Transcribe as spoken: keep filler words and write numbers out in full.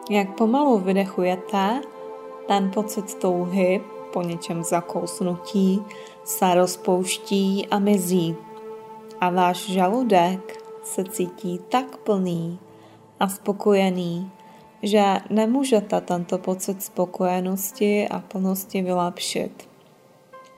Jak pomalu vydechujete, ten pocit touhy po něčem zakousnutí se rozpouští a mizí. A váš žaludek se cítí tak plný a spokojený, že nemůžete tento pocit spokojenosti a plnosti vylepšit.